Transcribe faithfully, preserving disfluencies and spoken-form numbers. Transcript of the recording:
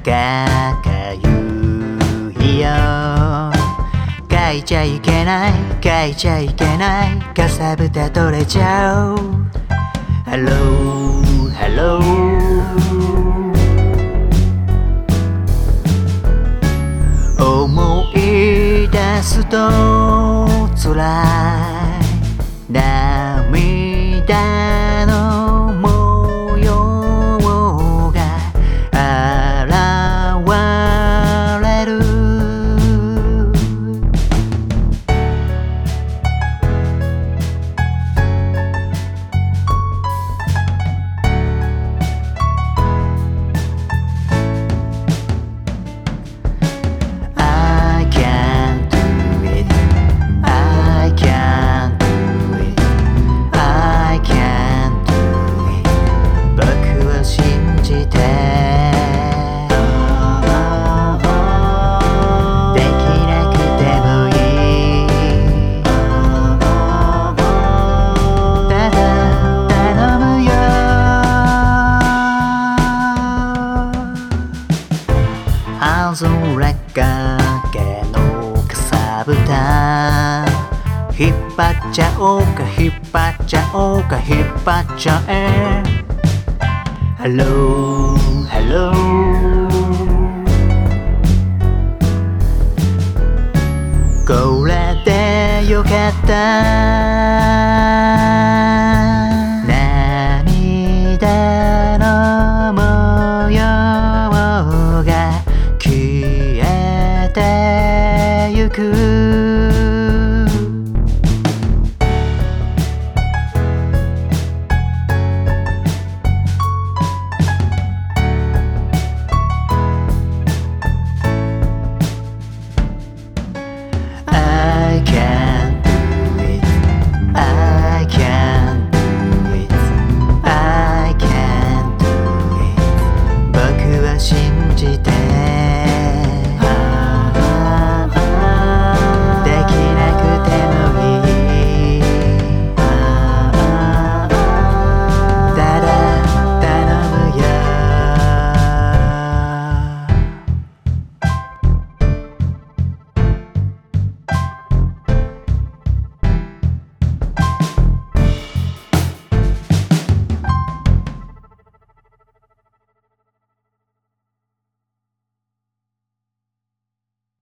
かかゆいよ。書いちゃいけない書いちゃいけないかさぶた取れちゃう。ハローハロー。思い出すと辛い涙の模様が現れる。青空かけのかさぶた引っ張っちゃおうか引っ張っちゃおうか引っ張っちゃえ。ハローハロー。これでよかった涙の模様が消えてゆく。